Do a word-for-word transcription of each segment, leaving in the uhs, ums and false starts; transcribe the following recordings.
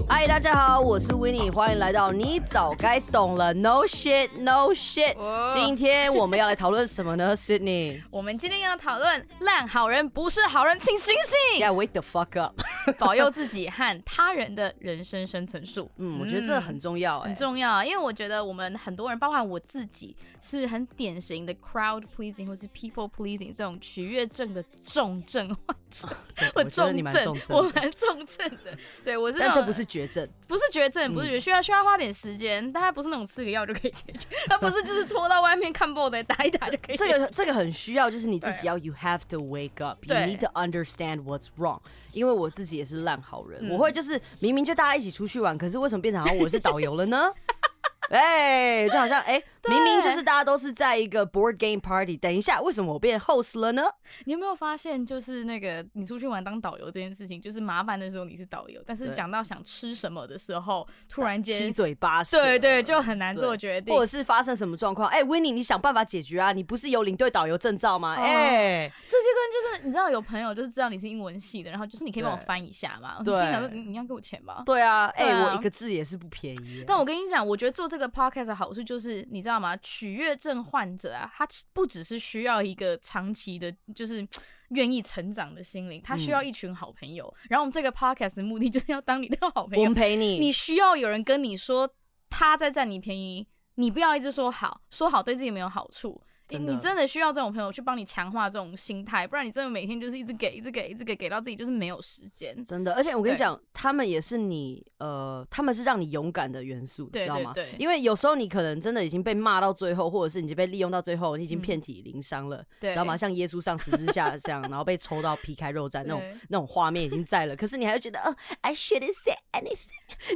嗨，大家好，我是 Winnie， 欢迎来到你早该懂了 No shit No shit、哦、今天我们要来讨论什么呢 Sydney？ 我们今天要讨论烂好人不是好人请醒醒 Yeah wake the fuck up 保佑自己和他人的人生生存术。 嗯，我觉得这很重要、欸、 很重要，因为我觉得我们很多人包含我自己是很典型的 crowd pleasing 或是 people pleasing 这种取悦症的重症患者。 我重症， 我蛮重症的。对，我是那种， 但这不是绝症， 不是绝症，不是绝症，需要需要花点时间，但它不是那种吃个药就可以解决，它不是就是拖到外面看 ball 的打一打就可以解决。 这个这个很需要，就是你自己要 you have to wake up， you need to understand what's wrong。因为我自己也是烂好人、嗯，我会就是明明就大家一起出去玩，可是为什么变成好像我是导游了呢？哎、欸，就好像哎、欸，明明就是大家都是在一个 board game party， 等一下，为什么我变 host 了呢？ 你有没有发现，就是那个你出去玩当导游这件事情，就是麻烦的时候你是导游，但是讲到想吃什么的时候，突然间七嘴八舌， 对对，就很难做决定， 或者是发生什么状况，哎、欸、，Winnie， 你想办法解决啊！你不是有领队导游证照吗？哎、哦欸， 这些跟就是你知道有朋友就是知道你是英文系的，然后就是你可以帮我翻一下嘛？对，我心想说你要给我钱吧？ 对啊，哎、欸啊，我一个字也是不便宜。 但我跟你讲，我觉得做这个 podcast 的好处就是你知道吗？取悦症患者啊，他不只是需要一个长期的，就是愿意成长的心灵，他需要一群好朋友。嗯、然后我们这个 podcast 的目的就是要当你的好朋友， 我们陪你。 你需要有人跟你说他在占你便宜，你不要一直说好，说好对自己没有好处。真你真的需要这种朋友去帮你强化这种心态，不然你真的每天就是一直给、一直给、一直给，给到自己就是没有时间。 真的，而且我跟你讲，他们也是你呃，他们是让你勇敢的元素， 对对对， 知道吗？因为有时候你可能真的已经被骂到最后，或者是你已经被利用到最后，你已经遍体鳞伤了、嗯，知道吗？像耶稣上十字架这样，然后被抽到皮开肉绽那种那种画面已经在了，可是你还会觉得，哦、uh, ，I shouldn't say anything 。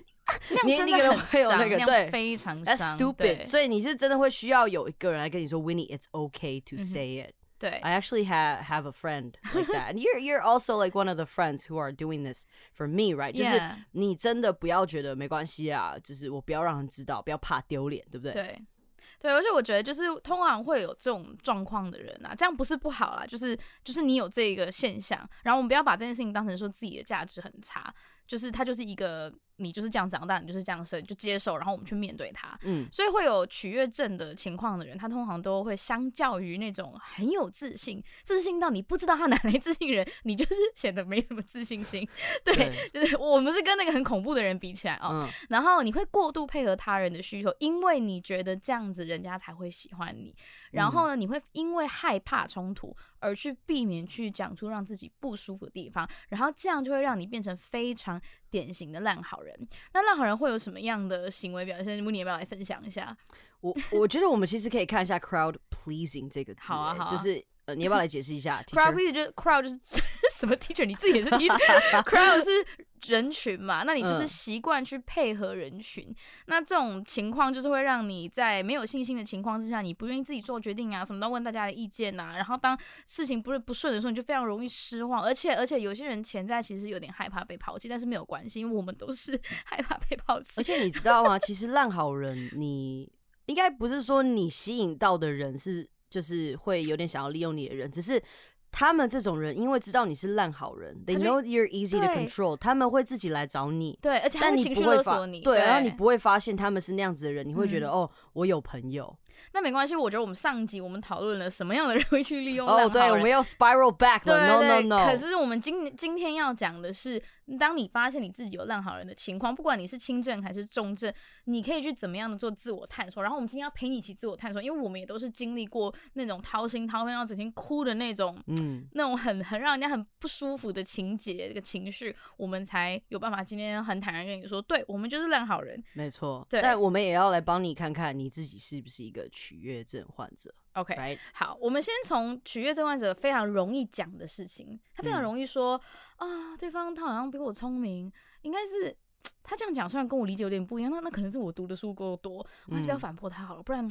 那样真的很伤， 那个对，非常伤。 That's stupid。所以你是真的会需要有一个人来跟你说 ，Winnie, it's okay to say it、嗯。 对 ，I actually have have a friend like that, and you're you're also like one of the friends who are doing this for me, right？ 就是你真的不要觉得没关系啊，就是我不要让人知道，不要怕丢脸，对不对？ 对。对，而且我觉得就是通常会有这种状况的人啊，这样不是不好啦，就是就是你有这个现象，然后我们不要把这件事情当成说自己的价值很差，就是它就是一个你就是这样长大，你就是这样生，就接受，然后我们去面对它。嗯，所以会有取悦症的情况的人，他通常都会相较于那种很有自信，自信到你不知道他哪来自信人，你就是显得没什么自信心。对，对就是我们是跟那个很恐怖的人比起来哦、嗯，然后你会过度配合他人的需求，因为你觉得这样子人家才会喜欢你。然后呢，你会因为害怕冲突而去避免去讲出让自己不舒服的地方，然后这样就会让你变成非常典型的烂好人。那烂好人会有什么样的行为表现？你要不要来分享一下？ 我我觉得我们其实可以看一下 crowd pleasing 这个字、欸， 好啊好啊， 就是呃，你要不要来解释一下 ？crowd pleasing 就是 crowd 就是什么 teacher？ 你自己也是 teacher。crowd 是人群嘛，那你就是习惯去配合人群、嗯。那这种情况就是会让你在没有信心的情况之下，你不愿意自己做决定啊，什么都问大家的意见啊。然后当事情不是不顺的时候，你就非常容易失望。而且而且有些人潜在其实有点害怕被抛弃，但是没有关系，因为我们都是害怕被抛弃。 而且你知道吗？其实烂好人，你应该不是说你吸引到的人是就是会有点想要利用你的人，只是。他们这种人，因为知道你是烂好人 ，they know you're easy to control， 他们会自己来找你。 对，而且他会情绪勒索你。 对，然后你不会发现他们是那样子的人，你会觉得、嗯、哦，我有朋友。 那没关系，我觉得我们上一集我们讨论了什么样的人会去利用烂好人。 哦，对，我们要 spiral back 了 ，no no no。 可是我们今今天要讲的是，当你发现你自己有烂好人的情况，不管你是轻症还是重症，你可以去怎么样的做自我探索。然后我们今天要陪你一起自我探索，因为我们也都是经历过那种掏心掏肺要整天哭的那种，嗯，那种很很让人家很不舒服的情节、这个情绪，我们才有办法今天很坦然跟你说，对我们就是烂好人。 没错， 对。 但我们也要来帮你看看你自己是不是一个取悦症患者。 OK， right? 好，我们先从取悦症患者非常容易讲的事情，他非常容易说啊、嗯哦，对方他好像比我聪明，应该是他这样讲，虽然跟我理解有点不一样，那那可能是我读的书够多，我还是不要反驳他好了，不然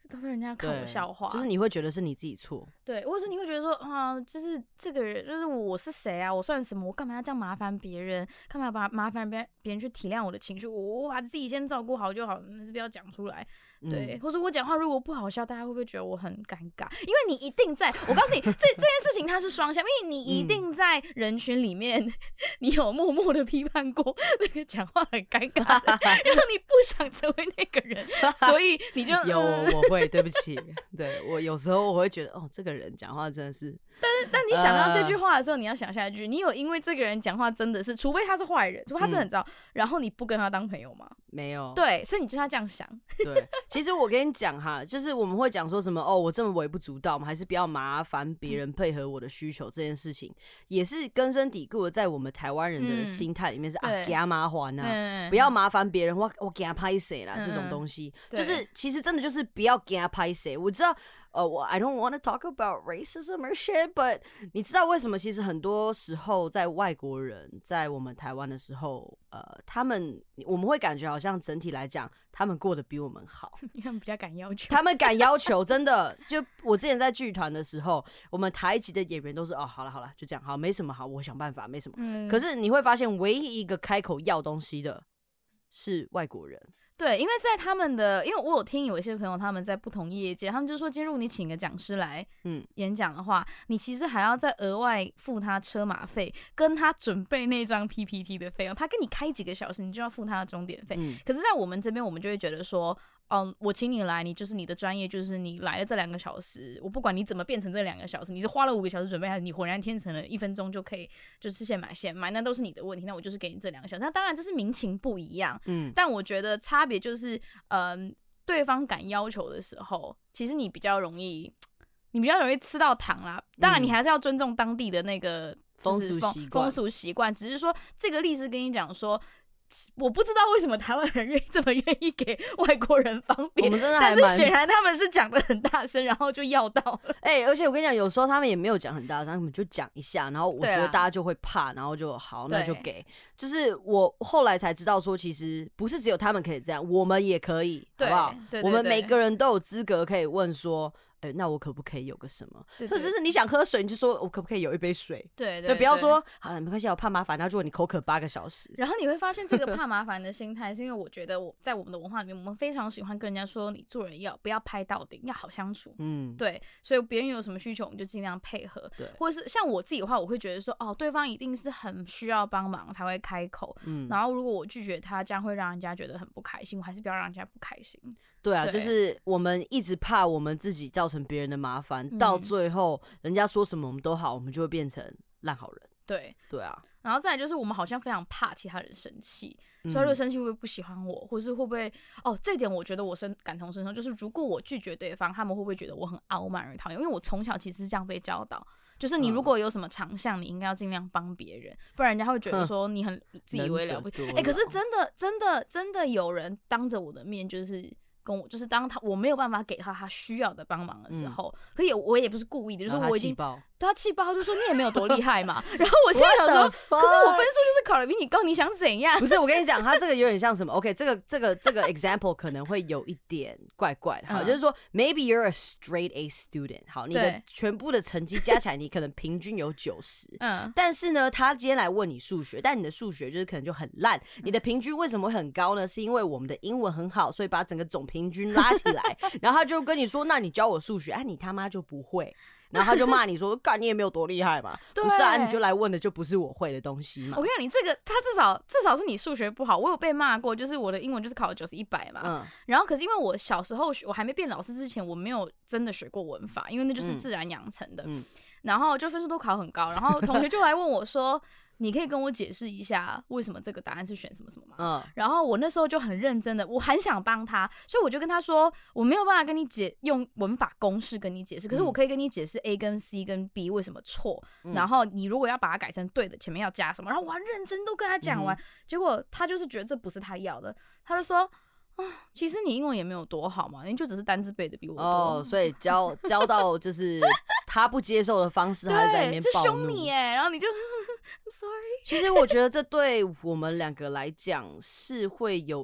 当成人家看我笑话， 就是你会觉得是你自己错， 对，或是你会觉得说啊，就是这个人，就是我是谁啊？我算什么？我干嘛要这样麻烦别人？干嘛要把麻烦别人别人去体谅我的情绪？我我把自己先照顾好就好，还是不要讲出来。对，嗯、或者我讲话如果不好笑，大家会不会觉得我很尴尬？因为你一定在，我告诉你，这这件事情它是双向，因为你一定在人群里面，嗯、你有默默的批判过那个讲话很尴尬的，然后你不想成为那个人，所以你就有我会对不起，对我有时候我会觉得哦，这个人讲话真的是。 但是，但你想到这句话的时候，呃、你要想下一句：你有因为这个人讲话真的是，除非他是坏人，除非他真的很糟，嗯、然后你不跟他当朋友吗？ 没有。 对，所以你就要这样想。 对，其实我跟你讲哈，就是我们会讲说什么哦，我这么微不足道，我们还是不要麻烦别人配合我的需求，这件事情也是根深蒂固的，在我们台湾人的心态里面是、嗯、啊，给他麻烦啊，不要麻烦别人，我我给他拍谁啦，这种东西，就是其实真的就是不要给他拍谁。我知道。呃，我 I don't want to talk about racism or shit, but 你知道为什么？其实很多时候，在外国人在我们台湾的时候，呃，他们我们会感觉好像整体来讲，他们过得比我们好， 他们比较敢要求， 他们敢要求，真的。就我之前在剧团的时候，我们台籍的演员都是哦，好了好了，就这样，好，没什么好，我想办法，没什么。嗯、可是你会发现，唯一一个开口要东西的是外国人。 对，因为在他们的，因为我有听有一些朋友他们在不同业界，他们就说，今日你请个讲师来演讲的话，嗯、你其实还要再额外付他车马费，跟他准备那张 P P T 的费用，他跟你开几个小时，你就要付他的钟点费。嗯、可是，在我们这边，我们就会觉得说，嗯，我请你来，你就是你的专业，就是你来了这两个小时，我不管你怎么变成这两个小时，你是花了五个小时准备，还是你浑然天成了一分钟就可以就是现买现卖，那都是你的问题。那我就是给你这两个小时。那当然，这是民情不一样，嗯，但我觉得差别就是，嗯，对方敢要求的时候，其实你比较容易，你比较容易吃到糖啦。当然，你还是要尊重当地的那个风俗习惯，风俗习惯。只是说这个例子跟你讲说。我不知道为什么台湾人愿意这么愿意给外国人方便， 我们真的还但是显然他们是讲得很大声，然后就要到了。 哎、欸，而且我跟你讲，有时候他们也没有讲很大声，他们就讲一下，然后我觉得大家就会怕，然后就好，那就给。就是我后来才知道说，其实不是只有他们可以这样，我们也可以，好不好？对对对对，我们每个人都有资格可以问说。哎、欸，那我可不可以有个什么？或者是你想喝水，你就说我可不可以有一杯水？ 对 对, 对, 对，不要说好了没关系，我怕麻烦。然后如果你口渴八个小时， 然后你会发现这个怕麻烦的心态，是因为我觉得我在我们的文化里面，我们非常喜欢跟人家说，你做人要不要拍到顶，要好相处。嗯，对，所以别人有什么需求，我们就尽量配合。对，或者是像我自己的话，我会觉得说，哦，对方一定是很需要帮忙才会开口。嗯，然后如果我拒绝他，这样会让人家觉得很不开心，我还是不要让人家不开心。 对啊，对，就是我们一直怕我们自己造成别人的麻烦，嗯、到最后人家说什么我们都好，我们就会变成烂好人。 对对啊， 然后再来就是我们好像非常怕其他人生气，嗯、所以如果生气会不会不喜欢我，或是会不会哦？这点我觉得我深感同身受，就是如果我拒绝对方，他们会不会觉得我很傲慢而讨厌？因为我从小其实是这样被教导。就是你如果有什么长项，你应该要尽量帮别人，不然人家会觉得说你很自以为了不起。哎、欸，可是真的真的真的有人当着我的面就是跟我，就是当他我没有办法给他他需要的帮忙的时候，嗯、可也我也不是故意的，就是我已经对他气爆，他就说你也没有多厉害嘛。然后我心里想说，可是我分数就是考得比你高，你想怎样？ 不是，我跟你讲，他这个有点像什么 ？OK， 这个这个这个 example 可能会有一点怪怪的。好，嗯、就是说 ，maybe you're a straight A student， 好，你的全部的成绩加起来，你可能平均有九十。嗯。但是呢，他今天来问你数学，但你的数学就是可能就很烂。你的平均为什么会很高呢？是因为我们的英文很好，所以把整个总平均拉起来。然后他就跟你说：“那你教我数学，哎、啊，你他妈就不会。”然后他就骂你说：“干，你也没有多厉害嘛，不是啊，你就来问的就不是我会的东西嘛。” 我跟你讲，你这个他至少至少是你数学不好，我有被骂过，就是我的英文就是考了九十一百嘛。嗯。然后可是因为我小时候我还没变老师之前，我没有真的学过文法，因为那就是自然养成的。嗯。然后就分数都考很高，然后同学就来问我说。你可以跟我解释一下为什么这个答案是选什么什么吗？嗯，然后我那时候就很认真的，我很想帮他，所以我就跟他说，我没有办法跟你解用文法公式跟你解释，可是我可以跟你解释 A 跟 C 跟 B 为什么错，嗯、然后你如果要把它改成对的，前面要加什么，然后我很认真都跟他讲完，嗯、结果他就是觉得这不是他要的，他就说。啊，其实你英文也没有多好嘛，你就只是单字背的比我多。 哦，所以教教到就是他不接受的方式，他在里面暴怒， 就凶你哎，然后你就 I'm sorry。 其实我觉得这对我们两个来讲是会有一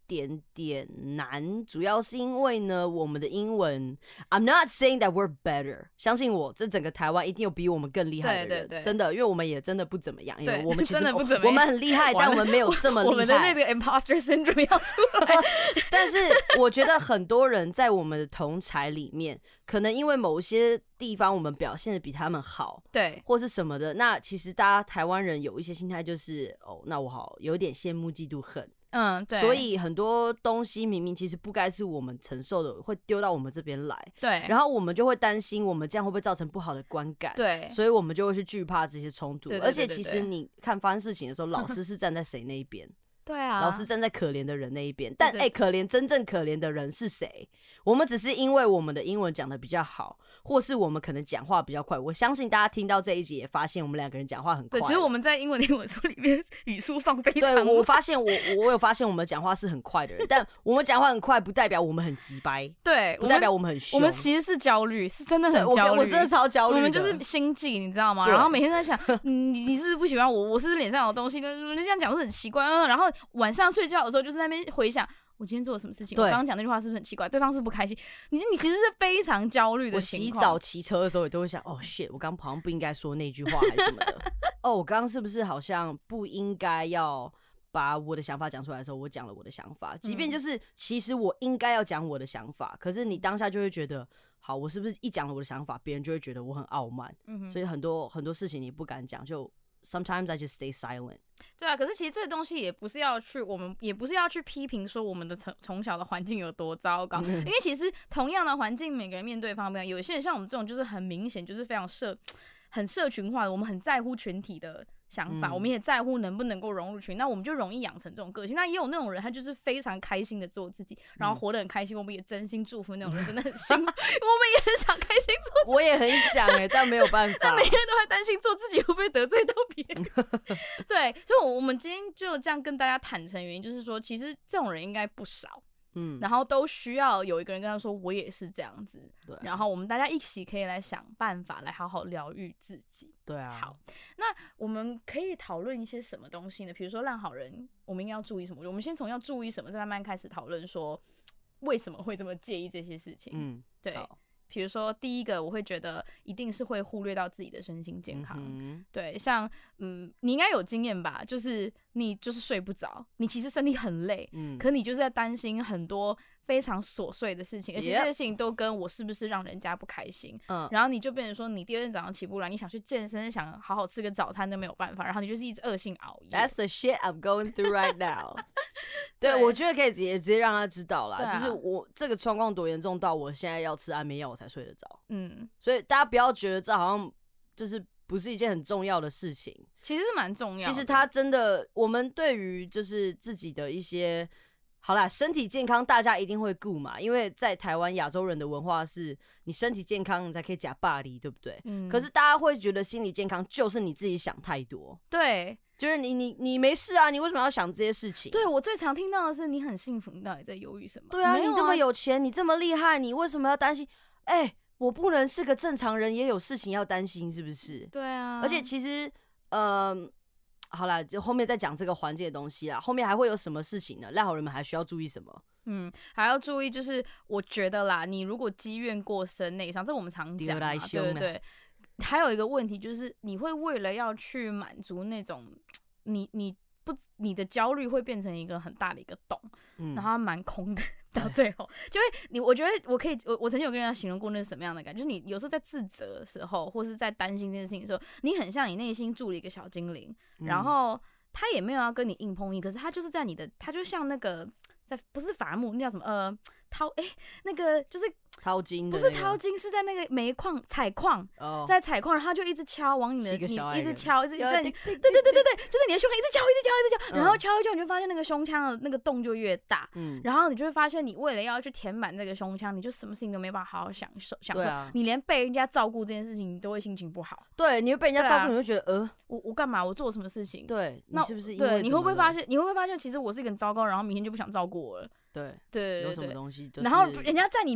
点点难，主要是因为呢，我们的英文 ，I'm not saying that we're better， 相信我，这整个台湾一定有比我们更厉害的人， 对对对， 真的，因为我们也真的不怎么样，因为我们其实真的不怎么样， 我们很厉害，但我们没有这么厉害， 我们的那个 imposter syndrome 要出来。 但是我觉得很多人在我们的同侪里面，可能因为某些地方我们表现的比他们好， 对， 或是什么的，那其实大家台湾人有一些心态就是，哦，那我好有点羡慕嫉妒恨。 嗯，对， 所以很多东西明明其实不该是我们承受的，会丢到我们这边来， 对， 然后我们就会担心我们这样会不会造成不好的观感， 对， 所以我们就会去惧怕这些冲突， 对对对对对， 而且其实你看发生事情的时候，老师是站在谁那一边？ 对啊， 老师站在可怜的人那一边，但哎、欸，可怜真正可怜的人是谁？我们只是因为我们的英文讲的比较好，或是我们可能讲话比较快。我相信大家听到这一集也发现我们两个人讲话很快。 对，其实我们在英文英文书里面语速放非常快。 对，我发现我我有发现我们讲话是很快的人，但我们讲话很快不代表我们很急掰， 对， 不代表我们很凶。 我们其实是焦虑，是真的很焦虑。 我, 我真的超焦虑的， 我们就是心悸，你知道吗？然后每天在想，你你是不是不喜欢我？我是不是脸上有东西？人家这样讲是很奇怪。然后晚上睡觉的时候就是在那边回想，我今天做了什么事情？我刚刚讲那句话是不是很奇怪？对方是不开心？你你其实是非常焦虑的情况。 我洗澡骑车的时候也都会想，哦 shit， 我刚刚好像不应该说那句话还是什么的。哦，我刚刚是不是好像不应该要把我的想法讲出来的时候，我讲了我的想法，即便就是其实我应该要讲我的想法，可是你当下就会觉得，好，我是不是一讲了我的想法，别人就会觉得我很傲慢？嗯，所以很多很多事情你不敢讲，就 sometimes I just stay silent。 对啊，可是其实这个东西也不是要去，我们也不是要去批评说我们的从从小的环境有多糟糕，因为其实同样的环境，每个人面对方面，有些人像我们这种就是很明显就是非常社很社群化的，我们很在乎群体的想法，嗯、我们也在乎能不能够融入群，那我们就容易养成这种个性。那也有那种人，他就是非常开心的做自己，然后活得很开心。我们也真心祝福那种人，真的很幸福。我们也很想开心做自己， 我也很想哎、欸，但没有办法。 但每天都会担心做自己会不会得罪到别人。对，所以我们今天就这样跟大家坦诚，原因就是说，其实这种人应该不少。嗯，然后都需要有一个人跟他说，我也是这样子。对，然后我们大家一起可以来想办法，来好好疗愈自己。 对啊。 好，那我们可以讨论一些什么东西呢？比如说烂好人，我们应该要注意什么？我们先从要注意什么，再慢慢开始讨论说为什么会这么介意这些事情。嗯，对。比如说，第一个我会觉得一定是会忽略到自己的身心健康。嗯、对，像嗯，你应该有经验吧？就是你就是睡不着，你其实身体很累，嗯，可你就是在担心很多非常琐碎的事情，而且这些事情都跟我是不是让人家不开心。嗯，然后你就变成说，你第二天早上起不来，你想去健身，想好好吃个早餐都没有办法，然后你就是一直恶性熬夜。 That's the shit I'm going through right now 对。对，我觉得可以直接直接让他知道啦，啊、就是我这个状况多严重到我现在要吃安眠药我才睡得着。嗯，所以大家不要觉得这好像就是不是一件很重要的事情， 其实是蛮重要的。 其实它真的，我们对于就是自己的一些。好啦，身体健康大家一定会顾嘛，因为在台湾亚洲人的文化是你身体健康你才可以假霸凌，对不对？嗯。可是大家会觉得心理健康就是你自己想太多， 对， 就是你你你没事啊，你为什么要想这些事情？ 对，我最常听到的是你很幸福，你到底在犹豫什么？ 对啊，啊你这么有钱，你这么厉害，你为什么要担心？哎、欸，我不能是个正常人，也有事情要担心，是不是？ 对啊。 而且其实，呃。好啦，就后面再讲这个环境的东西啦。后面还会有什么事情呢？烂好人们还需要注意什么？ 嗯，还要注意就是，我觉得啦，你如果积怨过深、内伤，这我们常讲嘛，对对对。还有一个问题就是，你会为了要去满足那种你你不你的焦虑，会变成一个很大的一个洞，嗯、然后它蛮空的。到最后，就会你，我觉得我可以，我我曾经有跟人家形容过那是什么样的感觉，就是你有时候在自责的时候，或是在担心这件事情的时候，你很像你内心住了一个小精灵，嗯、然后他也没有要跟你硬碰硬，可是他就是在你的，他就像那个在不是伐木，那叫什么呃掏哎、欸、那个就是。 淘金的、 那個、不是淘金，是在那个煤矿采矿， oh. 在采矿，然后他就一直敲往你的，你一直敲，一直在，对对对对对，就是你的胸腔一直敲，一直敲，一直敲，嗯、然后敲一敲，你就发现那个胸腔的那个洞就越大，嗯，然后你就会发现，你为了要去填满这个胸腔，你就什么事情都没办法好好享受，享受，啊、你连被人家照顾这件事情，你都会心情不好。 对，你会被人家照顾，啊、你会觉得呃， 我我干嘛？我做什么事情？ 对， 那你是不是因为对？你会不会发现？你会不会发现，其实我是一个很糟糕，然后明天就不想照顾我了？ 对对对对， 有什么东西、就是， 然后人家占你便宜的时候，你就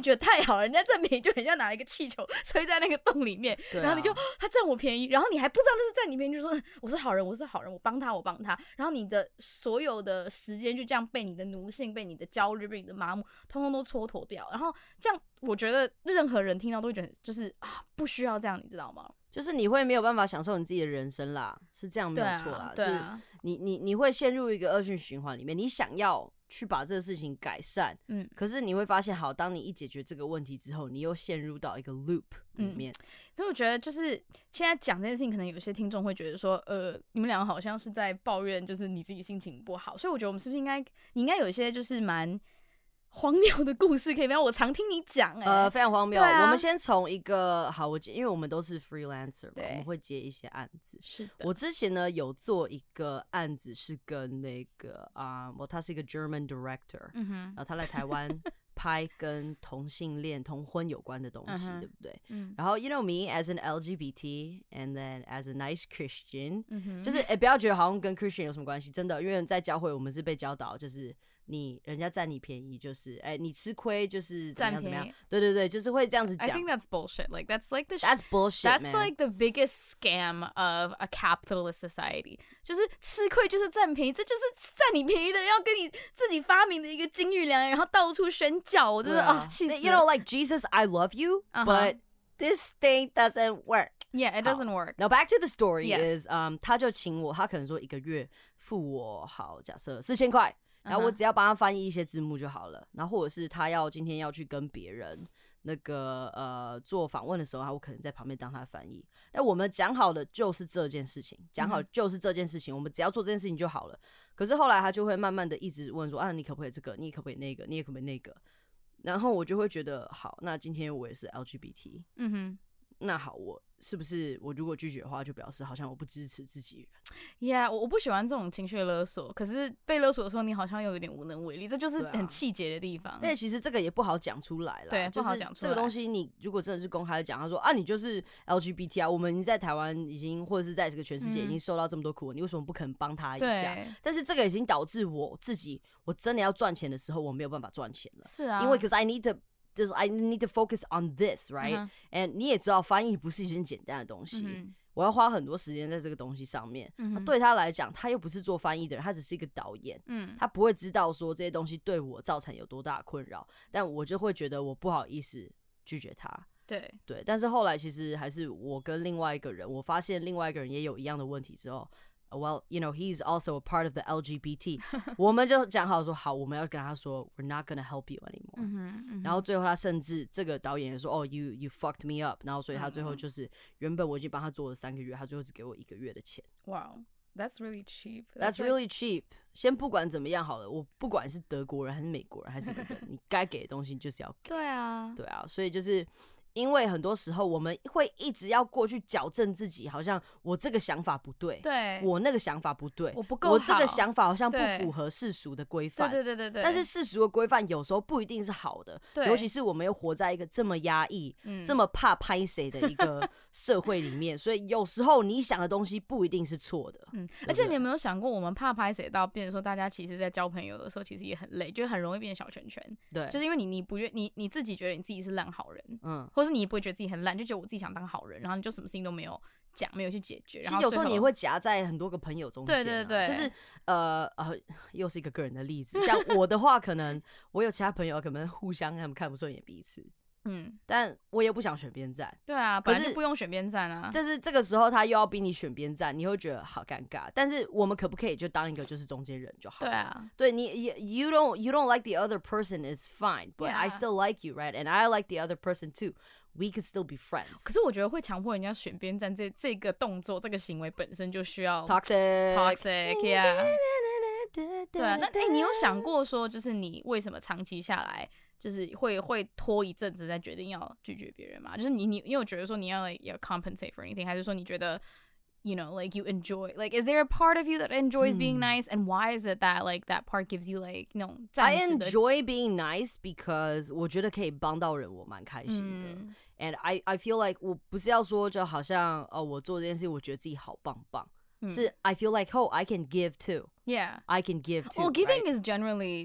觉得太好了，人家占便宜就很像拿一个气球吹在那个洞里面， 啊、 然后你就他占我便宜，然后你还不知道那是占你便宜，就说我是好人，我是好人，我帮他，我帮他，然后你的所有的时间就这样被你的奴性、被你的焦虑、被你的麻木，通通都蹉跎掉，然后这样我觉得任何人听到都会觉得就是啊，不需要这样，你知道吗？ 就是你会没有办法享受你自己的人生啦，是这样没有错啦。 对啊，对啊， 是你你你会陷入一个恶性循环里面，你想要去把这个事情改善，嗯，可是你会发现，好，当你一解决这个问题之后，你又陷入到一个 loop 里面。嗯、 所以我觉得，就是现在讲这件事情，可能有些听众会觉得说，呃，你们两个好像是在抱怨，就是你自己心情不好。所以我觉得我们是不是应该，你应该有一些就是蛮荒谬的故事可以分享，我常听你讲、欸， 呃，非常荒谬。 啊、 我们先从一个好，我因为我们都是 freelancer 嘛，我们会接一些案子。 是的。 我之前呢有做一个案子，是跟那个啊，我、呃、他是一个 German director，嗯哼，然后他来台湾拍跟同性恋、同婚有关的东西，对不对？嗯。然后 you know me as an L G B T and then as a nice Christian，、嗯、就是哎，不要觉得好像跟 Christian 有什么关系，真的，因为在教会我们是被教导就是。你人家占你便宜就是哎、欸，你吃亏就是怎么样怎么样，对对对，就是会这样子讲。 I think that's bullshit. Like that's like the that's bullshit. That's man. like the biggest scam of a capitalist society. 就是吃亏就是占便宜，这就是占你便宜的人要跟你自己发明的一个金玉良言，然后到处宣教，我真的啊气死了。 You know, like Jesus, I love you, uh-huh. but this thing doesn't work. Yeah, it doesn't work. Now back to the story yes. is, um, 他就请我，他可能说一个月付我好，假设四千块。然后我只要帮他翻译一些字幕就好了， uh-huh. 然后或者是他要今天要去跟别人那个呃做访问的时候，我可能在旁边当他翻译。那我们讲好的就是这件事情，讲好就是这件事情， uh-huh. 我们只要做这件事情就好了。可是后来他就会慢慢的一直问说啊，你可不可以这个？你可不可以那个？你也可不可以那个？然后我就会觉得好，那今天我也是 L G B T， 嗯哼。那好，我是不是我如果拒绝的话，就表示好像我不支持自己人 ？Yeah， 我我不喜欢这种情绪勒索，可是被勒索的时候，你好像又有点无能为力，这就是很气结的地方。 但、啊、其实这个也不好讲出来啦， 对， 就是不好讲出来。 这个东西，你如果真的是公开的讲，他说啊，你就是 L G B T 啊，我们已经在台湾已经或者是在这个全世界已经受到这么多苦、嗯，你为什么不可能帮他一下？但是这个已经导致我自己，我真的要赚钱的时候，我没有办法赚钱了。 是啊， 因为 cause I need to。就是 I need to focus on this, right? Uh-huh. And 你也知道，翻译不是一件简单的东西。Mm-hmm. 我要花很多时间在这个东西上面。Mm-hmm. 对他来讲，他又不是做翻译的人，他只是一个导演。Mm-hmm. 他不会知道说这些东西对我造成有多大的困扰，但我就会觉得我不好意思拒绝他。 对对，但是后来其实还是我跟另外一个人，我发现另外一个人也有一样的问题之后。Well, you know, he's also a part of the L G B T. 我们就讲好说，好，我们要跟他說 ，We're not gonna help you anymore. 嗯哼嗯哼然后最後他甚至這個導演也說，哦 ，you you fucked me up. 然後所以他最後就是原本我已經幫他做了三個月，他最後只給我一個月的錢。 Wow, that's really cheap. That's, that's really cheap. 先不管怎麼樣好了，我不管是德國人還是美國人還是什麼人，你該給的東西就是要給。 對啊， 對啊，所以就是。因为很多时候我们会一直要过去矫正自己，好像我这个想法不对， 对， 我那个想法不对， 我不够好， 我这个想法好像不符合世俗的规范， 对对对对对。 但是世俗的规范有时候不一定是好的，尤其是我们又活在一个这么压抑、嗯、这么怕拍谁的一个社会里面，所以有时候你想的东西不一定是错的。嗯，對對而且你有没有想过，我们怕拍谁到变成说，大家其实在交朋友的时候，其实也很累，就很容易变小圈圈。 对， 就是因为你你不愿你你自己觉得你自己是烂好人，嗯，或是你也不会觉得自己很。就觉得我自己想当好人，然后你就什么事情都没有讲，没有去解决。然后其实有时候你也会夹在很多个朋友中间、啊， 对对对， 就是呃呃，又是一个个人的例子。像我的话，可能我有其他朋友，可能互相他们看不顺眼彼此，嗯，但我也不想选边站。 对啊，本来就不用选边站啊。 就是这个时候他又要逼你选边站，你会觉得好尴尬。但是我们可不可以就当一个就是中间人就好了？ 对啊， 对你 you don't you don't like the other person is fine, but、yeah. I still like you, right? And I like the other person too.We could still be friends. 可是我觉得会强迫人家选边站这这个动作，这个行为本身就需要 toxic, toxic, yeah. 对啊，那哎、欸，你有想过说，就是你为什么长期下来，就是会会拖一阵子再决定要拒绝别人嘛？就是你你你有觉得说你要 like 要 compensate for anything， 还是说你觉得 you know like you enjoy like is there a part of you that enjoys being nice and why is it that like that part gives you like 那种暂时的 I enjoy being nice because 我觉得可以帮到人，我蛮开心的。嗯And I I feel like 我不是要说就好像哦，我做这件事我觉得自己好棒棒，嗯、是 I feel like oh I can give too. Yeah, I can give too. Well, giving right? is generally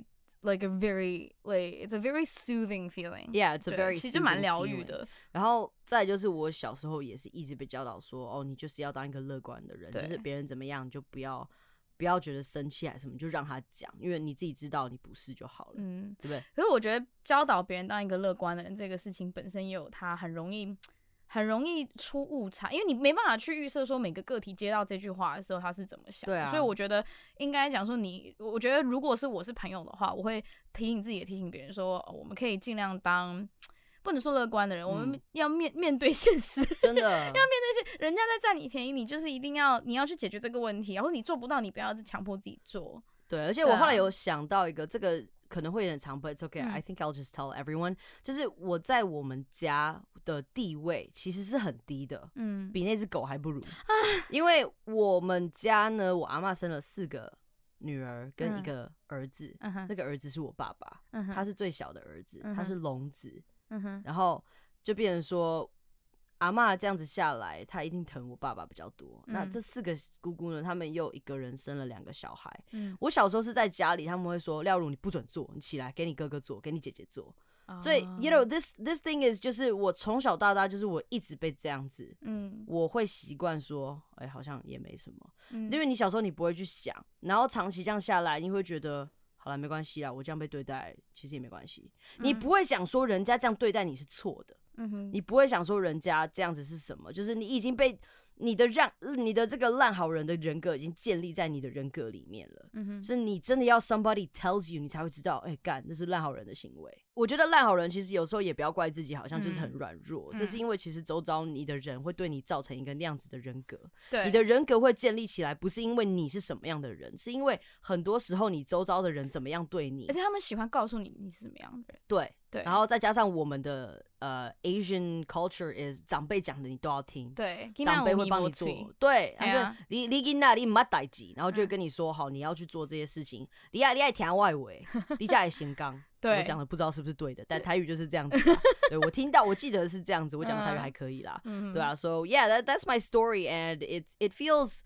like a very like it's a very soothing feeling. Yeah, it's a very 其实蛮疗愈的。 然后再来就是我小时候也是一直被教导说，哦，你就是要当一个乐观的人，就是别人怎么样你就不要不要觉得生气还是什么，就让他讲，因为你自己知道你不是就好了，嗯，对不对？ 可是我觉得教导别人当一个乐观的人，这个事情本身也有它很容易。很容易出误差，因为你没办法去预设说每个个体接到这句话的时候他是怎么想的，对啊，所以我觉得应该讲说你，我觉得如果是我是朋友的话，我会提醒自己也提醒别人说，哦，我们可以尽量当不能说乐观的人，嗯，我们要面面对现实， 真的要面对现人家在占你便宜，你就是一定要你要去解决这个问题，或者你做不到，你不要强迫自己做。 对，而且我后来有想到一个这个。可能会有点长 but it's okay、嗯、I think I'll just tell everyone 就是我在我们家的地位其实是很低的，嗯，比那只狗还不如、啊、因为我们家呢我阿嬷生了四个女儿跟一个儿子、嗯、那个儿子是我爸爸、嗯、他是最小的儿子、嗯、他是龙子、嗯、然后就变成说阿嬷这样子下来她一定疼我爸爸比较多、嗯、那这四个姑姑呢他们又一个人生了两个小孩、嗯、我小时候是在家里他们会说廖如你不准做，你起来给你哥哥做给你姐姐做、哦、所以 you know this this thing is 就是我从小到大就是我一直被这样子、嗯、我会习惯说哎、欸，好像也没什么、嗯、因为你小时候你不会去想，然后长期这样下来你会觉得好了没关系啦，我这样被对待其实也没关系、嗯、你不会想说人家这样对待你是错的，嗯哼，你不会想说人家这样子是什么，就是你已经被你的让你的这个烂好人的人格已经建立在你的人格里面了，嗯哼，是你真的要 somebody tells you 你才会知道，哎、欸，干，那是烂好人的行为。我觉得烂好人其实有时候也不要怪自己，好像就是很软弱、嗯，这是因为其实周遭你的人会对你造成一个那样子的人格，对，你的人格会建立起来，不是因为你是什么样的人，是因为很多时候你周遭的人怎么样对你， 而且他们喜欢告诉你你是什么样的人， 对。对，然后再加上我们的呃 Asian culture is 长辈讲的你都要听， 对， 长辈会帮你做，对，他说你你囡仔你没代志，然后就会跟你说、嗯、好你要去做这些事情，你爱你爱听我的话，你才会成功。对，我讲的不知道是不是对的，但台语就是这样子啦。对，我听到我记得是这样子，我讲的台语还可以啦。嗯、对啊 ，So yeah, that, that's my story, and it it feels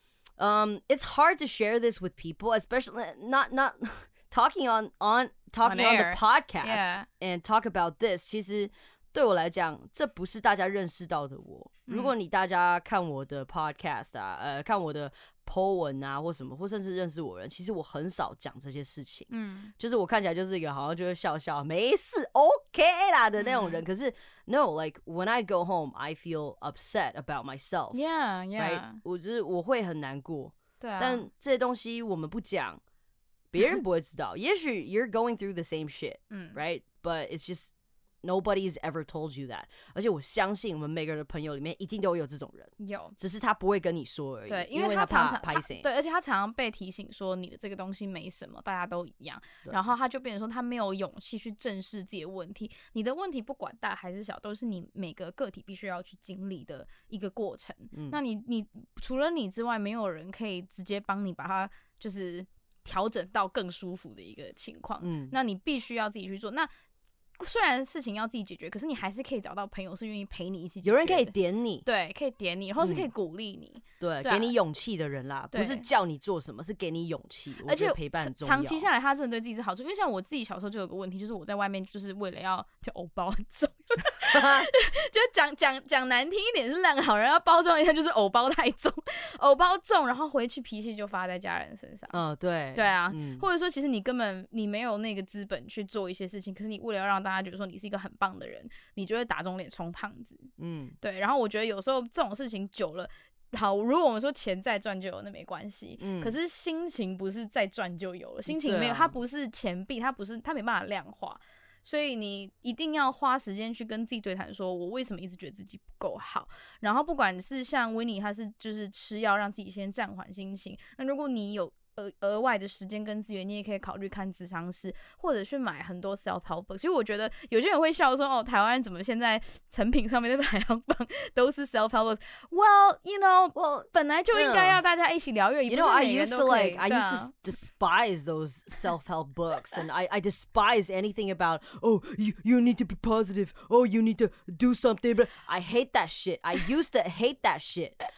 um it's hard to share this with people, especially not not talking on on. talking on, on the podcast、yeah. and talk about this 其实对我来讲这不是大家认识到的我、嗯、如果你大家看我的 podcast 啊呃看我的 po 文啊或什么或甚至认识我的人，其实我很少讲这些事情，嗯，就是我看起来就是一个好像就会笑笑没事 OK 啦的那种人、嗯、可是 no like when I go home I feel upset about myself yeah yeah right? 我就是我会很难过， 对啊， 但这些东西我们不讲别人不会知道也许 you're going through the same shit、嗯、right but it's just nobody's ever told you that 而且我相信我们每个人的朋友里面一定都有这种人， 有， 只是他不会跟你说而已， 对， 因为他常常怕对，而且他常常被提醒说你的这个东西没什么，大家都一样，然后他就变成说他没有勇气去正视自己的问题，你的问题不管大还是小都是你每个个体必须要去经历的一个过程、嗯、那你你除了你之外没有人可以直接帮你把它就是调整到更舒服的一个情况、嗯，那你必须要自己去做。那虽然事情要自己解决，可是你还是可以找到朋友是愿意陪你一起解决的， 有人可以点你， 对，可以点你，或是可以鼓励你、嗯，对， 给你勇气的人啦，不是叫你做什么，是给你勇气。而且陪伴很重要， 长期下来，他真的对自己是好处。因为像我自己小时候就有个问题，就是我在外面就是为了要就偶包很重，就讲讲讲难听一点是烂好人，要包装一下就是偶包太重，偶包重，然后回去脾气就发在家人身上。 嗯、呃，对， 对啊、嗯，或者说其实你根本你没有那个资本去做一些事情，可是你为了要让大家觉得说你是一个很很棒的人，你就会打肿脸充胖子。嗯，对。然后我觉得有时候这种事情久了，好，如果我们说钱再赚就有，那没关系。嗯，可是心情不是再赚就有了，心情没有，它不是钱币，它不是，它没办法量化。所以你一定要花时间去跟自己对谈，说我为什么一直觉得自己不够好。然后不管是像 Winnie， 他是就是吃药让自己先暂缓心情。那如果你有额额外的时间跟资源，你也可以考虑看諮商師，或者去买很多 self help book。其实我觉得有些人会笑说，哦，台湾怎么现在成品上面的排行榜都是 self help book？ Well, you know, well, 本来就应该要大家一起疗愈，也不是每个人都可以。 You know, I used to like, I used to despise those self help books, and I I despise anything about oh you you need to be positive, oh you need to do something. But I hate that shit. I used to hate that shit.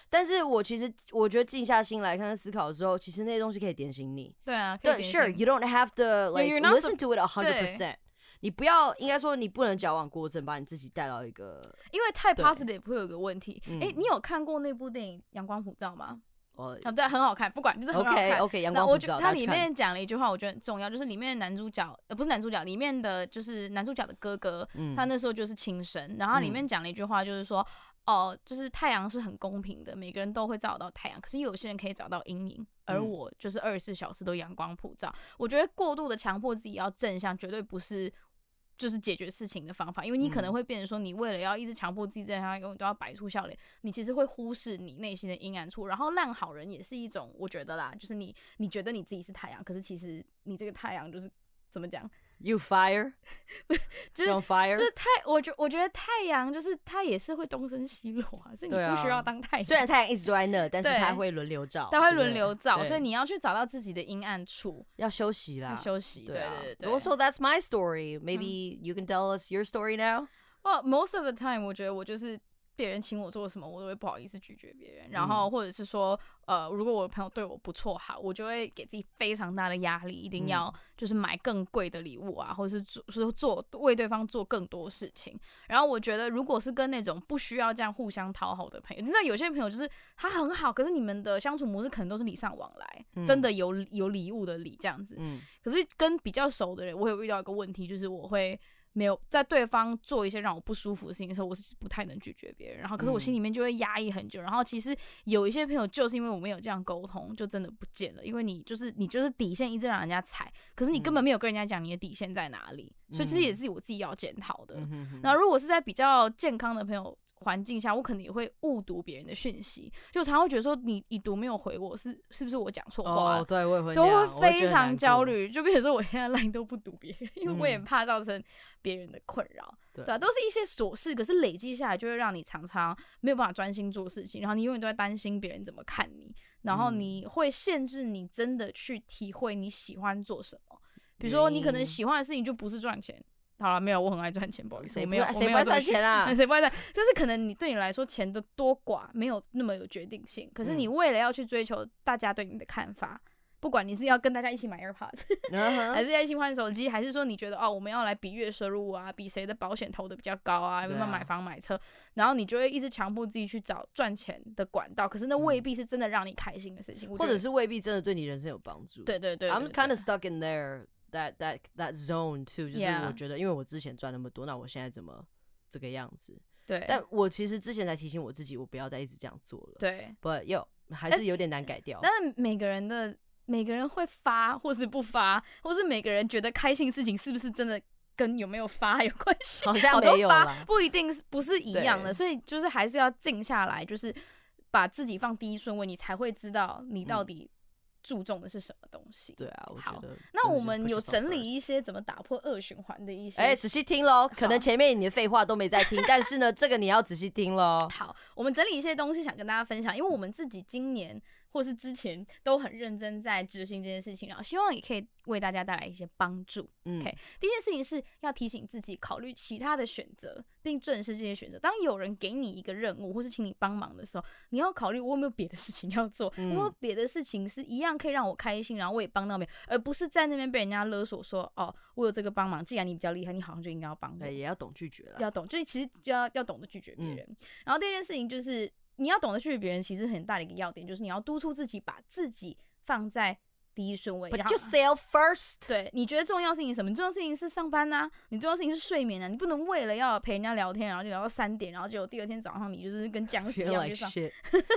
但是我其实我觉得静下心来看看思考的时候，其实那些东西可以点醒你。 对啊，可以点醒。 对 ，Sure, you don't have to like You're not listen to it a hundred percent。你不要，应该说你不能矫枉过正，把你自己带到一个， 因为太 positive 会有个问题。哎、嗯，你有看过那部电影《阳光普照》吗？哦，对，很好看，不管就是很好看。 OK OK， 阳光普照。 它里面讲了一句话，我觉得很重要，就是里面的男主角，呃，不是男主角，里面的就是男主角的哥哥，嗯、他那时候就是轻生，然后他里面讲了一句话，就是说，哦、呃，就是太阳是很公平的，每个人都会照到太阳，可是有些人可以找到阴影。而我就是二十四小时都阳光普照。我觉得过度的强迫自己要正向，绝对不是就是解决事情的方法，因为你可能会变成说，你为了要一直强迫自己正向，永远都要摆出笑脸，你其实会忽视你内心的阴暗处。然后烂好人也是一种，我觉得啦，就是你你觉得你自己是太阳，可是其实你这个太阳就是怎么讲？ You fire， 就是 fire， 就是太，我觉我觉得太阳就是它也是会东升西落啊，所以你不需要当太阳。 虽然太阳一直都在那，但是它会轮流照， 它会轮流照，所以你要去找到自己的阴暗处， 要休息啦， 要休息。对对对。 Also, that's my story. Maybe、嗯、you can tell us your story now. Well, most of the time, 我觉得我就是别人请我做什么，我都会不好意思拒绝别人。然后或者是说，呃，如果我的朋友对我不错好，我就会给自己非常大的压力，一定要就是买更贵的礼物啊，或者是做说做为对方做更多事情。然后我觉得，如果是跟那种不需要这样互相讨好的朋友，你知道有些朋友就是他很好，可是你们的相处模式可能都是礼尚往来，嗯、真的有有礼物的礼这样子。嗯、可是跟比较熟的人，我有遇到一个问题，就是我会。没有在对方做一些让我不舒服的事情的时候，我是不太能拒绝别人。然后，可是我心里面就会压抑很久。然后，其实有一些朋友就是因为我没有这样沟通，就真的不见了。因为你就是你就是底线一直让人家踩，可是你根本没有跟人家讲你的底线在哪里。嗯、所以，其实也是我自己要检讨的。嗯、然后，如果是在比较健康的朋友环境下，我可能也会误读别人的讯息，就常常会觉得说你已读没有回我，是是不是我讲错话？ 哦，对，我也会都会非常焦虑。就比如说我现在 LINE 都不读别人，因为我也怕造成别人的困扰。对, 对啊，都是一些琐事，可是累积下来就会让你常常没有办法专心做事情，然后你永远都在担心别人怎么看你，然后你会限制你真的去体会你喜欢做什么。比如说你可能喜欢的事情就不是赚钱。好了，没有，我很爱赚钱，不好意思， 谁没有， 谁不爱赚钱啊？ 谁不爱赚？但是可能你对你来说钱的多寡没有那么有决定性，可是你为了要去追求大家对你的看法，不管你是要跟大家一起买 AirPods，、uh-huh. 还是要一起换手机，还是说你觉得哦我们要来比月收入啊，比谁的保险投的比较高啊，有没有买房买车，然后你就会一直强迫自己去找赚钱的管道，可是那未必是真的让你开心的事情， 或者是未必真的对你人生有帮助。 对对 对, 對, 對, 對 ，I'm kind of stuck in there.That that that zone too， 就是我觉得，因为我之前赚那么多， yeah. 那我现在怎么这个样子？ 对， 但我其实之前才提醒我自己，我不要再一直这样做了。 对 ，But yo 还是有点难改掉。 但是每个人的每个人会发，或是不发，或是每个人觉得开心的事情是不是真的跟有没有发有关系？ 好像没有啦， 不一定不是一样的，所以就是还是要静下来，就是把自己放第一顺位，你才会知道你到底、嗯。注重的是什么东西？ 对啊，我觉得。 那我们有整理一些怎么打破恶循环的一些。 哎、欸，仔细听咯，可能前面你的废话都没在听，但是呢，这个你要仔细听咯。 好，我们整理一些东西想跟大家分享，因为我们自己今年或是之前都很认真在执行这件事情，然后希望也可以为大家带来一些帮助。嗯、OK， 第一件事情是要提醒自己考虑其他的选择，并正视这些选择。当有人给你一个任务或是请你帮忙的时候，你要考虑我有没有别的事情要做，嗯、我有没有别的事情是一样可以让我开心，然后我也帮到别人，而不是在那边被人家勒索说哦，我有这个帮忙，既然你比较厉害，你好像就应该要帮我。 对，也要懂拒绝了， 要懂，就是其实就要要懂得拒绝别人。嗯、然后第二件事情就是。你要懂得拒绝别人，其实很大的一个要点就是你要督促自己把自己放在第一顺位。 Put yourself first。 对，你觉得重要事情是什么？你重要事情是上班啊，你重要事情是睡眠啊。你不能为了要陪人家聊天，然后就聊到三点，然后结果第二天早上你就是跟僵尸一样去上。 对。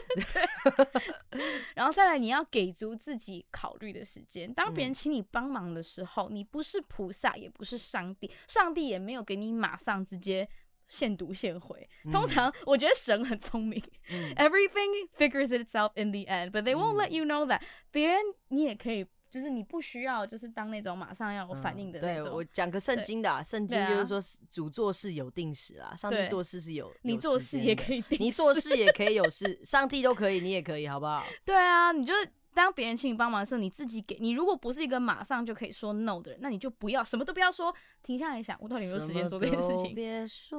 然后再来，你要给足自己考虑的时间。当别人请你帮忙的时候，你不是菩萨，也不是上帝，上帝也没有给你马上直接。现读现回，通常我觉得神很聪明、嗯、，everything figures itself in the end, but they won't、嗯、let you know that。别人你也可以，就是你不需要，就是当那种马上要有反应的那种。嗯、对， 我讲个圣经的、啊，圣经就是说主做事有定时啦，上帝做事是有， 你做事也可以定时， 你做事也可以有事，上帝都可以，你也可以，好不好？ 对啊，你就。当别人请你帮忙的时候，你自己给。你如果不是一个马上就可以说 no 的人，那你就不要什么都不要说， 停下来想，我到底有没有时间做这件事情？ 别说。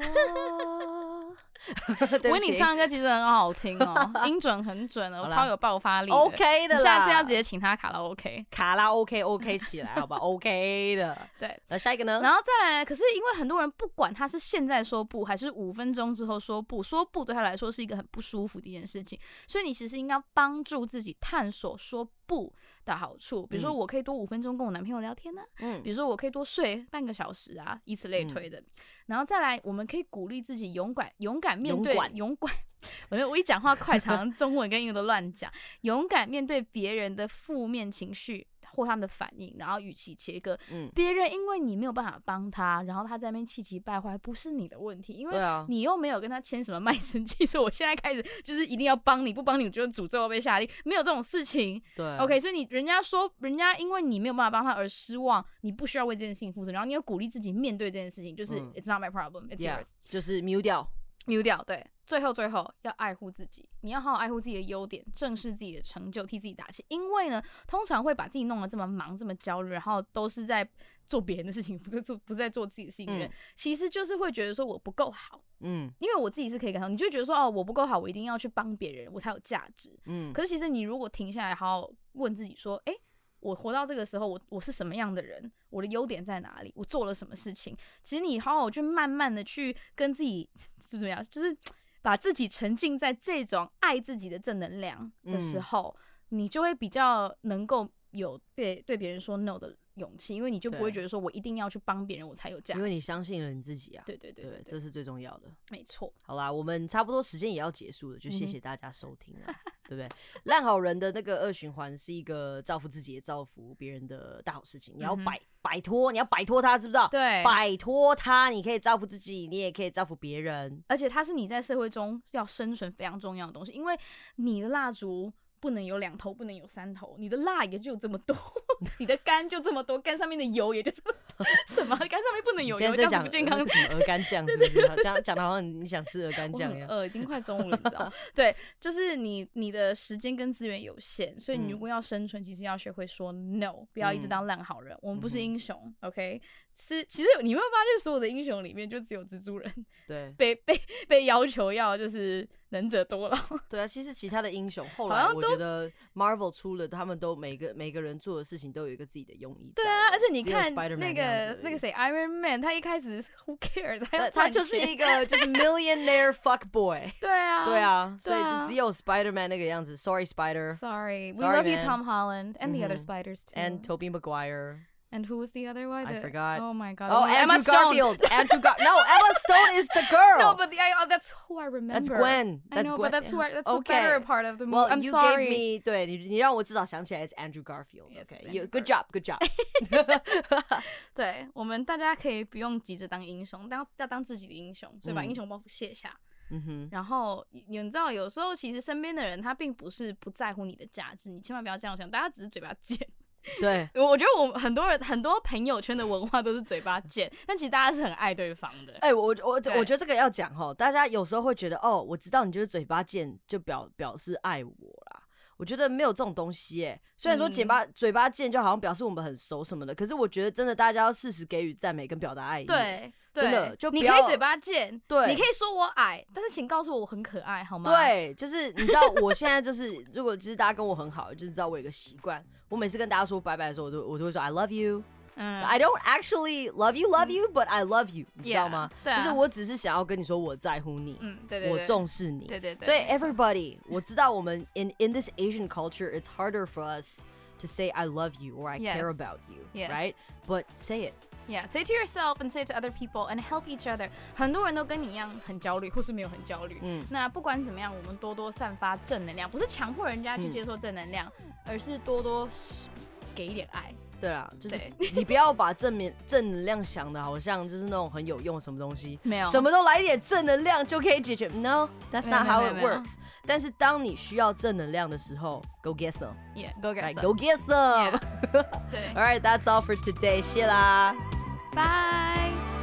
维尼唱的歌其实很好听哦，音准很准哦，超有爆发力的 ，OK 的啦。 下次要直接请他卡拉 OK， 卡拉 OK OK 起来，好吧 ？OK 的。 对， 那下一个呢？ 然后再来，可是因为很多人不管他是现在说不，还是五分钟之后说不，说不对他来说是一个很不舒服的一件事情，所以你其实应该帮助自己探索说不的好处，比如说我可以多五分钟跟我男朋友聊天呢、啊，嗯，比如说我可以多睡半个小时啊，以此类推的。嗯、然后再来，我们可以鼓励自己勇敢勇敢面对勇敢，我我一讲话快，常常中文跟英文都乱讲，勇敢面对别人的负面情绪或他们的反应，然后与其切割，嗯，别人因为你没有办法帮他，然后他在那边气急败坏，不是你的问题，因为你又没有跟他签什么卖身契，所以我现在开始就是一定要帮你，不帮你我就诅咒被下地，没有这种事情。 对 ，OK， 所以你人家说人家因为你没有办法帮他而失望，你不需要为这件事情负责，然后你有鼓励自己面对这件事情，就是、嗯、It's not my problem, it's yours， 就是 mute 掉。 mute 掉，对，最后最后要爱护自己，你要好好爱护自己的优点，正视自己的成就，替自己打气。因为呢，通常会把自己弄得这么忙、这么焦虑，然后都是在做别人的事情，不是做不是在做自己的事情的人、嗯，其实就是会觉得说我不够好，嗯，因为我自己是可以感受，你就觉得说哦，我不够好，我一定要去帮别人，我才有价值，嗯。可是其实你如果停下来，好好问自己说，哎、欸。我活到这个时候，我我是什么样的人？我的优点在哪里？我做了什么事情？其实你好好去慢慢的去跟自己就怎么样，就是把自己沉浸在这种爱自己的正能量的时候，嗯、你就会比较能够有对对别人说 no 的勇气，因为你就不会觉得说我一定要去帮别人我才有价值， 因为你相信了你自己啊。 对对 对, 对, 对, 对， 这是最重要的。 没错。 好啦，我们差不多时间也要结束了，就谢谢大家收听了，嗯、对不对？烂好人的那个二循环是一个造福自己也造福别人的大好事情，你要摆摆脱，你要摆脱它，知不知道？ 对， 摆脱它，你可以造福自己，你也可以造福别人， 而且它是你在社会中要生存非常重要的东西，因为你的蜡烛不能有两头，不能有三头，你的蜡也就这么多，你的肝就这么多，肝上面的油也就这么多。什么？肝上面不能有油，这样子不健康。 什么鹅肝酱是不是？讲讲的好像你想吃鹅肝酱一样。 呃，已经快中午了，你知道吗？对，就是你你的时间跟资源有限，所以你如果要生存，其实要学会说 no， 不要一直当烂好人。嗯、我们不是英雄、嗯、，OK？ 是，其实你会发现，所有的英雄里面，就只有蜘蛛人对被被被要求要就是能者多劳。 对啊，其实其他的英雄后来我觉得 Marvel 出了，他们都每个每个人做的事情都有一个自己的用意。 对啊，而且你看那个那个谁 Iron Man， 他一开始 Who cares， 他要他就是一个就是 millionaire fuck boy。 对啊， 对啊，所以就只有 Spider-Man 那个样子。Sorry Spider。Sorry， we love you Tom Holland and the other Spiders too. And Tobey Maguire。And who was the other one? I forgot. Oh my god. Oh, oh Emma Garfield. Andrew Gar. No, Emma Stone is the girl. No, but the, I, oh, that's who I remember. That's Gwen. That's I know, Gwen. but that's who I, that's okay. the better part of the movie. Well, I'm you sorry. gave me 对你你让我至少想起来 it's Andrew Garfield. Yes, okay. Andrew You, good job. Good job. 对，我们大家可以不用急着当英雄，当要当自己的英雄，所以把英雄包袱卸下。嗯哼，然后你知道，有时候其实身边的人他并不是不在乎你的价值，你千万不要这样想，大家只是嘴巴贱。 对， 我觉得我很多人很多朋友圈的文化都是嘴巴贱，但其实大家是很爱对方的。 哎、欸，我我我觉得这个要讲齁，大家有时候会觉得哦，我知道你就是嘴巴贱，就表表示爱我啦。我觉得没有这种东西哎、欸，虽然说嘴巴、嗯、嘴巴贱就好像表示我们很熟什么的，可是我觉得真的大家要适时给予赞美跟表达爱意。 对。 真的，就你可以嘴巴贱， 对， 你可以说我矮，但是请告诉我我很可爱，好吗？ 对，就是你知道，我现在就是，如果其实大家跟我很好，就是知道我有一个习惯，我每次跟大家说拜拜的时候，我都我都会说 I love you。嗯 I don't actually love you, love you, but I love you， 你知道吗？ Yeah, 就是我只是想要跟你说我在乎你， 嗯，对对对， 我重视你， 对对对。 所以 everybody， 我知道我们 in in this Asian culture, it's harder for us to say I love you or I yes. care about you, yes. right? But say it.Yeah, say it to yourself and say it to other people and help each other. 很多人都跟你一样很焦虑，或是没有很焦虑。嗯，那不管怎么样，我们多多散发正能量，不是强迫人家去接受正能量，嗯、而是多多给一点爱。 对啊，就是你不要把正面正能量想的好像就是那种很有用什么东西， 没有， 什么都来一点正能量就可以解决。No, that's not how it works. 但是当你需要正能量的时候 ，Go get some. Yeah, go get right, some. Go get some. Yeah. 对。 All right, that's all for today. 谢啦。 Bye.